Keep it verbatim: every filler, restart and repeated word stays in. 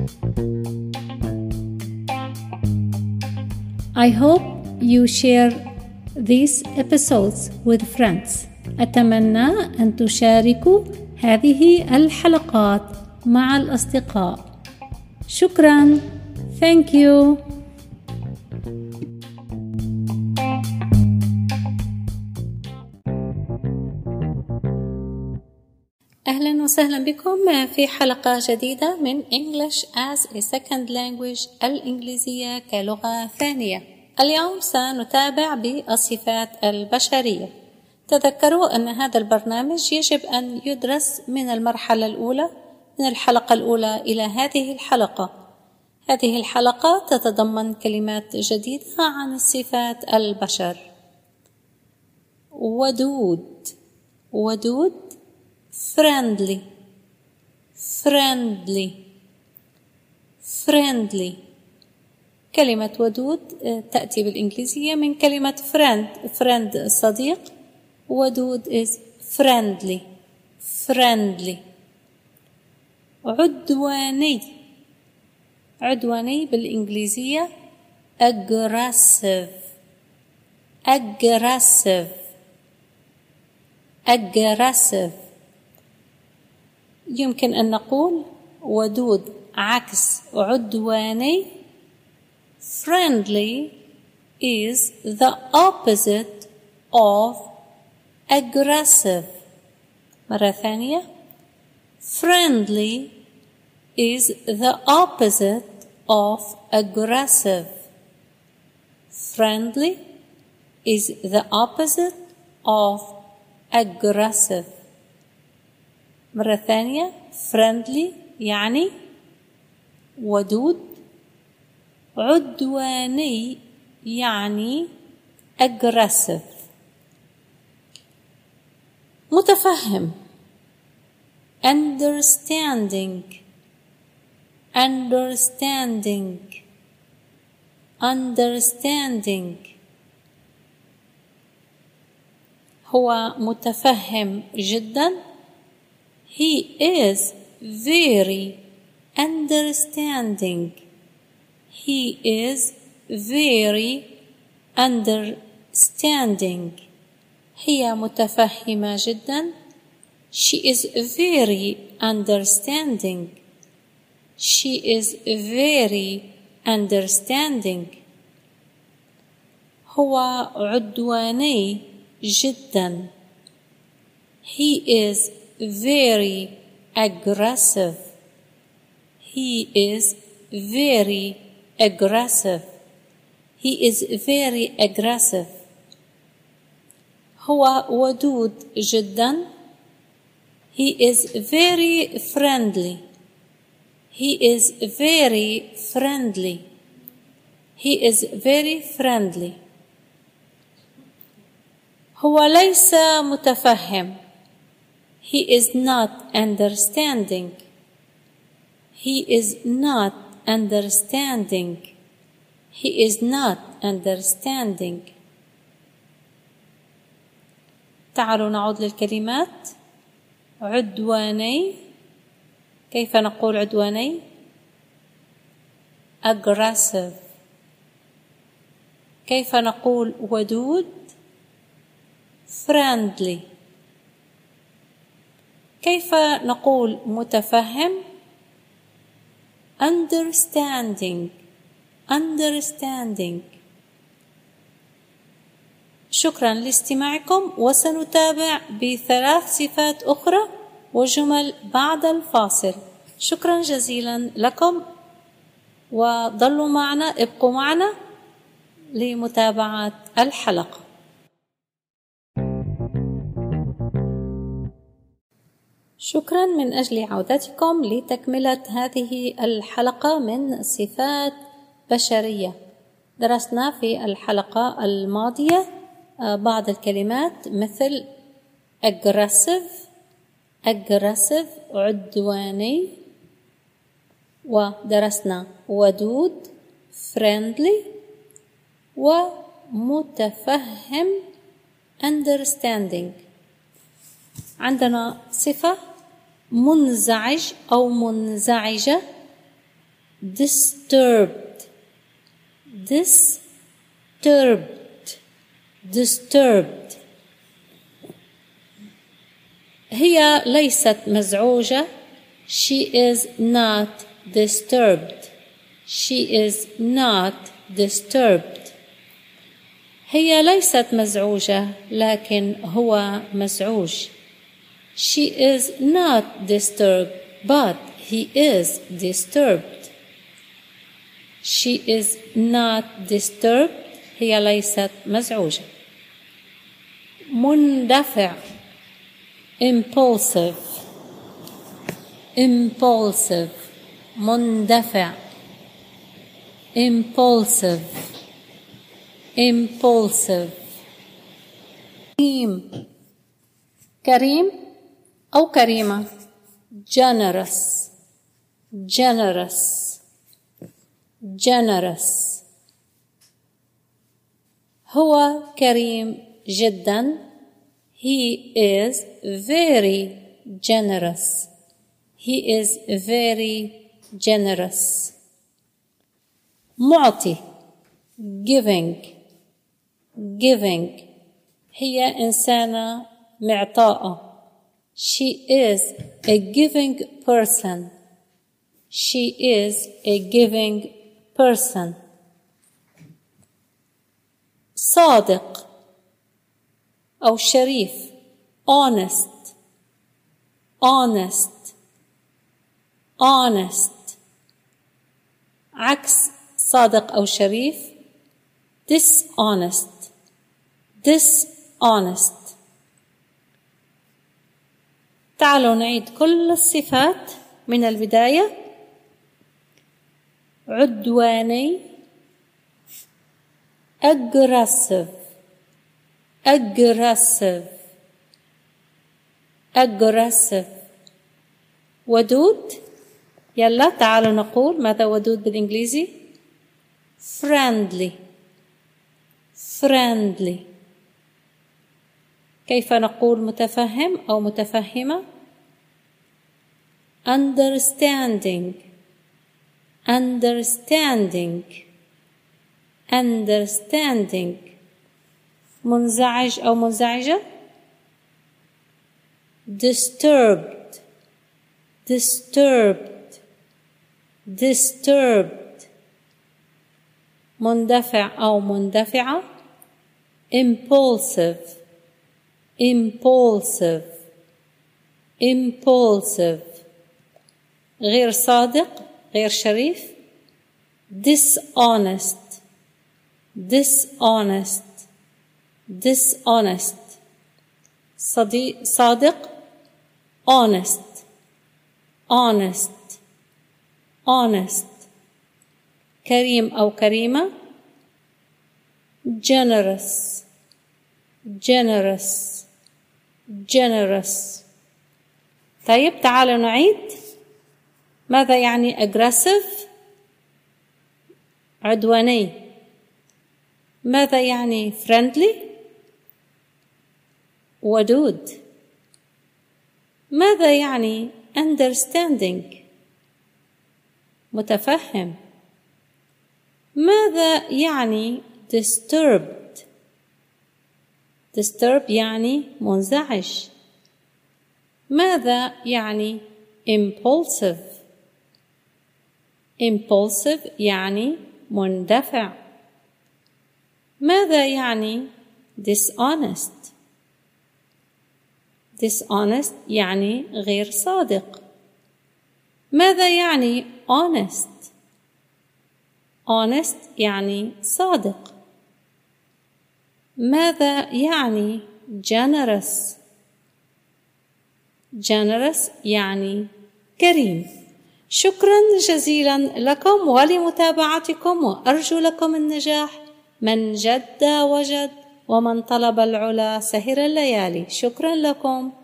I hope you share these episodes with friends. أتمنى أن تشاركوا هذه الحلقات مع الأصدقاء. شكراً. Thank you. أهلاً وسهلاً بكم في حلقة جديدة من English as a Second Language، الإنجليزية كلغة ثانية. اليوم سنتابع بالصفات البشرية. تذكروا أن هذا البرنامج يجب أن يدرس من المرحلة الأولى، من الحلقة الأولى إلى هذه الحلقة. هذه الحلقة تتضمن كلمات جديدة عن صفات البشر. ودود، ودود friendly friendly friendly. كلمة ودود تأتي بالإنجليزية من كلمة friend friend صديق. ودود is friendly friendly. عدواني، عدواني بالإنجليزية aggressive aggressive aggressive. يمكن أن نقول ودود عكس عدواني. Friendly is the opposite of aggressive. مرة ثانية. Friendly is the opposite of aggressive. Friendly is the opposite of aggressive. مرة ثانية. friendly يعني ودود. عدواني يعني aggressive. متفهم understanding understanding understanding. هو متفهم جدا. He is very understanding. He is very understanding. هي متفهمة جدا. She is very understanding. She is very understanding. هو عدواني جدا. He is very aggressive. He is very aggressive. He is very aggressive. هو ودود جدا. He is very friendly. He is very friendly. He is very friendly. هو ليس متفهم. He is not understanding. He is not understanding. He is not understanding. تعالوا نعود للكلمات. عدواني. كيف نقول عدواني؟ aggressive. كيف نقول ودود؟ friendly. كيف نقول متفهم؟ understanding understanding. شكرا لاستماعكم، وسنتابع بثلاث صفات أخرى وجمل بعد الفاصل. شكرا جزيلا لكم، وضلوا معنا، ابقوا معنا لمتابعة الحلقة. شكرا من أجل عودتكم لتكملة هذه الحلقة من صفات بشرية. درسنا في الحلقة الماضية بعض الكلمات مثل aggressive aggressive عدواني، ودرسنا ودود friendly، ومتفهم understanding. عندنا صفة منزعج أو منزعجة disturbed, disturbed, disturbed. هي ليست مزعوجة. She is not disturbed. She is not disturbed. هي ليست مزعوجة لكن هو مزعوج. She is not disturbed but he is disturbed. She is not disturbed. هي ليست مزعوجة. مندفع impulsive, impulsive, مندفع impulsive, impulsive. كريم كريم أو كريمة generous, generous, generous. هو كريم جدا. He is very generous. He is very generous. معطي giving, giving. هي إنسانة معطاءة. She is a giving person. She is a giving person. صادق أو شريف honest, honest, honest. عكس صادق أو شريف dishonest, dishonest. تعالوا نعيد كل الصفات من البداية. عدواني aggressive, aggressive, aggressive. ودود. يلا تعالوا نقول ماذا ودود بالإنجليزي. friendly, friendly. كيف نقول متفهم أو متفهمة. understanding, understanding, understanding. منزعج أو منزعجة. disturbed, disturbed, disturbed. مندفع أو مندفعة. impulsive, impulsive, impulsive. غير صادق غير شريف. dishonest, dishonest, dishonest. صديق صادق honest, honest, honest. كريم أو كريمة. generous, generous, generous. طيب تعالوا نعيد. ماذا يعني aggressive؟ عدواني. ماذا يعني friendly؟ ودود. ماذا يعني understanding؟ متفهم. ماذا يعني disturbed؟ disturb يعني منزعج. ماذا يعني impulsive؟ impulsive يعني مندفع. ماذا يعني dishonest؟ dishonest يعني غير صادق. ماذا يعني honest؟ honest يعني صادق. ماذا يعني generous؟ generous يعني كريم. شكرا جزيلا لكم ولمتابعتكم، وأرجو لكم النجاح. من جد وجد، ومن طلب العلا سهر الليالي. شكرا لكم.